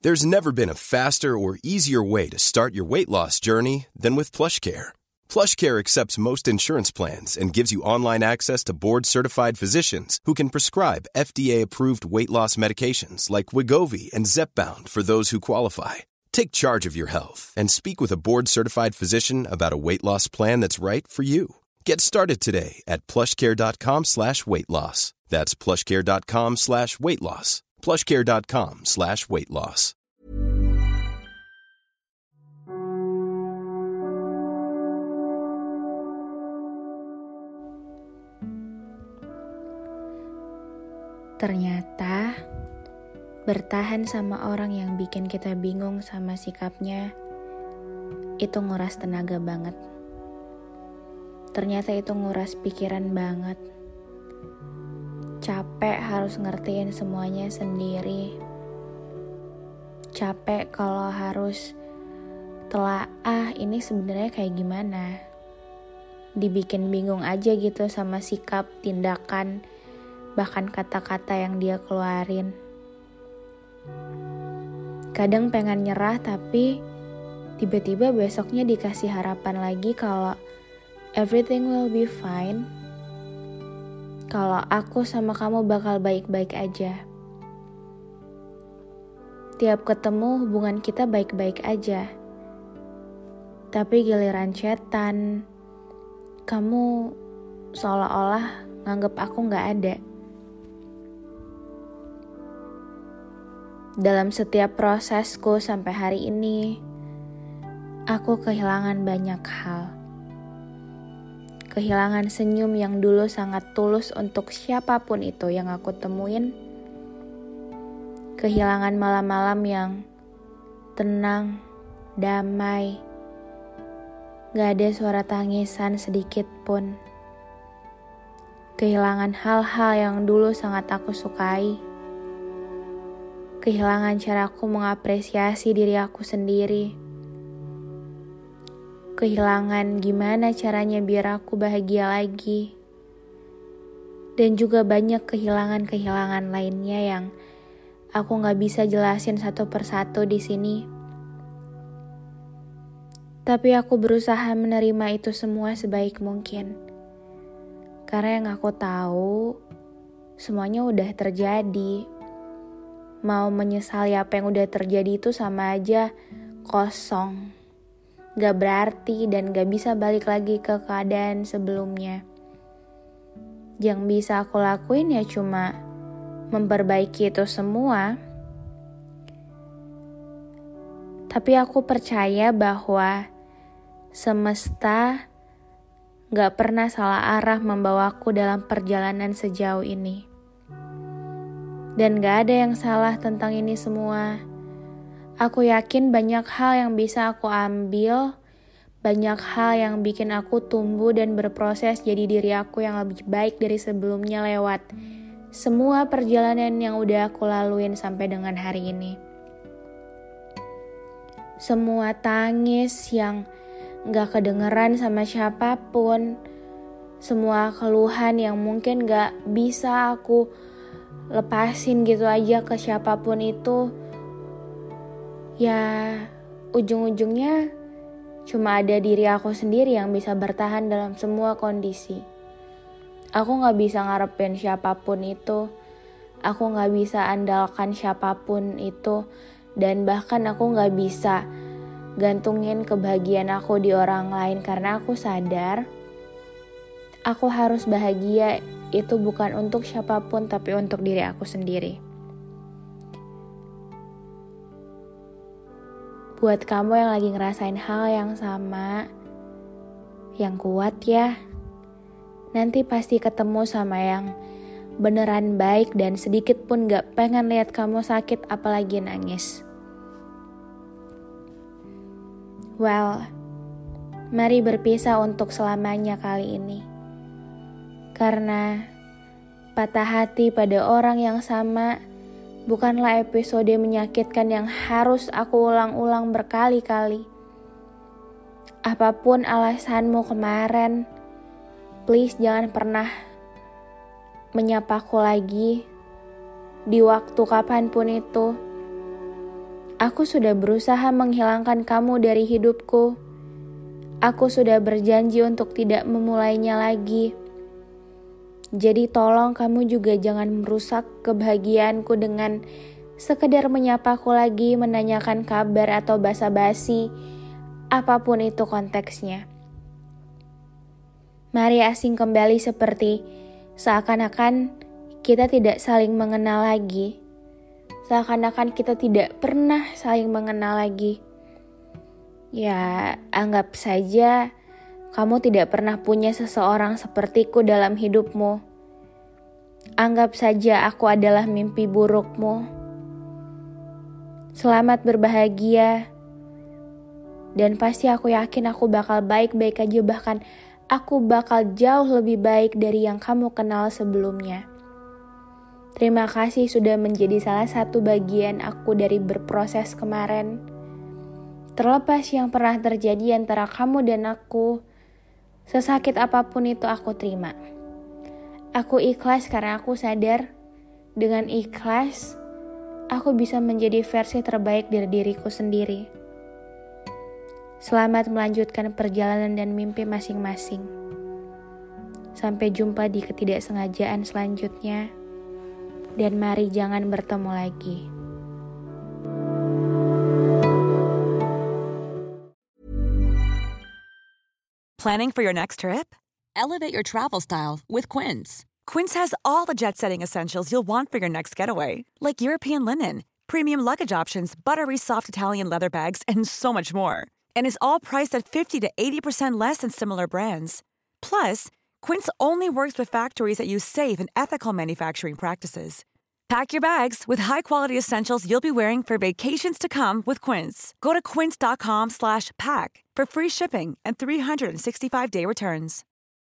There's never been a faster or easier way to start your weight loss journey than with PlushCare. PlushCare accepts most insurance plans and gives you online access to board-certified physicians who can prescribe FDA-approved weight loss medications like Wegovy and Zepbound for those who qualify. Take charge of your health and speak with a board-certified physician about a weight loss plan that's right for you. Get started today at plushcare.com/weightloss. That's plushcare.com/weightloss. plushcare.com/weightloss. Ternyata bertahan sama orang yang bikin kita bingung sama sikapnya itu nguras tenaga banget. Ternyata itu nguras pikiran banget. Capek harus ngertiin semuanya sendiri. Capek kalau harus telaah ini sebenarnya kayak gimana. Dibikin bingung aja gitu sama sikap, tindakan, bahkan kata-kata yang dia keluarin. Kadang pengen nyerah tapi tiba-tiba besoknya dikasih harapan lagi kalau everything will be fine. Kalau aku sama kamu bakal baik-baik aja. Tiap ketemu hubungan kita baik-baik aja. Tapi giliran chatan, kamu seolah-olah nganggep aku gak ada. Dalam setiap prosesku sampai hari ini, aku kehilangan banyak hal. Kehilangan senyum yang dulu sangat tulus untuk siapapun itu yang aku temuin. Kehilangan malam-malam yang tenang, damai. Gak ada suara tangisan sedikit pun. Kehilangan hal-hal yang dulu sangat aku sukai. Kehilangan caraku mengapresiasi diri aku sendiri. Kehilangan gimana caranya biar aku bahagia lagi. Dan juga banyak kehilangan-kehilangan lainnya yang aku gak bisa jelasin satu persatu di sini. Tapi aku berusaha menerima itu semua sebaik mungkin. Karena yang aku tahu, semuanya udah terjadi. Mau menyesali apa yang udah terjadi itu sama aja kosong. Gak berarti dan gak bisa balik lagi ke keadaan sebelumnya. Yang bisa aku lakuin ya cuma memperbaiki itu semua. Tapi aku percaya bahwa semesta gak pernah salah arah membawaku dalam perjalanan sejauh ini. Dan gak ada yang salah tentang ini semua. Aku yakin banyak hal yang bisa aku ambil, banyak hal yang bikin aku tumbuh dan berproses jadi diri aku yang lebih baik dari sebelumnya lewat semua perjalanan yang udah aku laluin sampai dengan hari ini. Semua tangis yang gak kedengeran sama siapapun, semua keluhan yang mungkin gak bisa aku lepasin gitu aja ke siapapun itu, ya ujung-ujungnya cuma ada diri aku sendiri yang bisa bertahan dalam semua kondisi. Aku gak bisa ngarepin siapapun itu, aku gak bisa andalkan siapapun itu, dan bahkan aku gak bisa gantungin kebahagiaan aku di orang lain karena aku sadar aku harus bahagia itu bukan untuk siapapun tapi untuk diri aku sendiri. Buat kamu yang lagi ngerasain hal yang sama, yang kuat ya. Nanti pasti ketemu sama yang beneran baik dan sedikit pun gak pengen lihat kamu sakit apalagi nangis. Well, mari berpisah untuk selamanya kali ini. Karena patah hati pada orang yang sama bukanlah episode menyakitkan yang harus aku ulang-ulang berkali-kali. Apapun alasanmu kemarin, please jangan pernah menyapaku lagi di waktu kapanpun itu. Aku sudah berusaha menghilangkan kamu dari hidupku. Aku sudah berjanji untuk tidak memulainya lagi. Jadi tolong kamu juga jangan merusak kebahagiaanku dengan sekedar menyapaku lagi, menanyakan kabar atau basa-basi, apapun itu konteksnya. Mari asing kembali seperti seakan-akan kita tidak saling mengenal lagi. Seakan-akan kita tidak pernah saling mengenal lagi. Ya, anggap saja kamu tidak pernah punya seseorang sepertiku dalam hidupmu. Anggap saja aku adalah mimpi burukmu. Selamat berbahagia. Dan pasti aku yakin aku bakal baik-baik aja, bahkan aku bakal jauh lebih baik dari yang kamu kenal sebelumnya. Terima kasih sudah menjadi salah satu bagian aku dari berproses kemarin. Terlepas yang pernah terjadi antara kamu dan aku, sesakit apapun itu aku terima. Aku ikhlas karena aku sadar dengan ikhlas aku bisa menjadi versi terbaik dari diriku sendiri. Selamat melanjutkan perjalanan dan mimpi masing-masing. Sampai jumpa di ketidaksengajaan selanjutnya. Dan mari jangan bertemu lagi. Planning for your next trip? Elevate your travel style with Quince. Quince has all the jet-setting essentials you'll want for your next getaway, like European linen, premium luggage options, buttery soft Italian leather bags, and so much more. And is all priced at 50 to 80% less than similar brands. Plus, Quince only works with factories that use safe and ethical manufacturing practices. Pack your bags with high-quality essentials you'll be wearing for vacations to come with Quince. Go to quince.com/pack for free shipping and 365-day returns.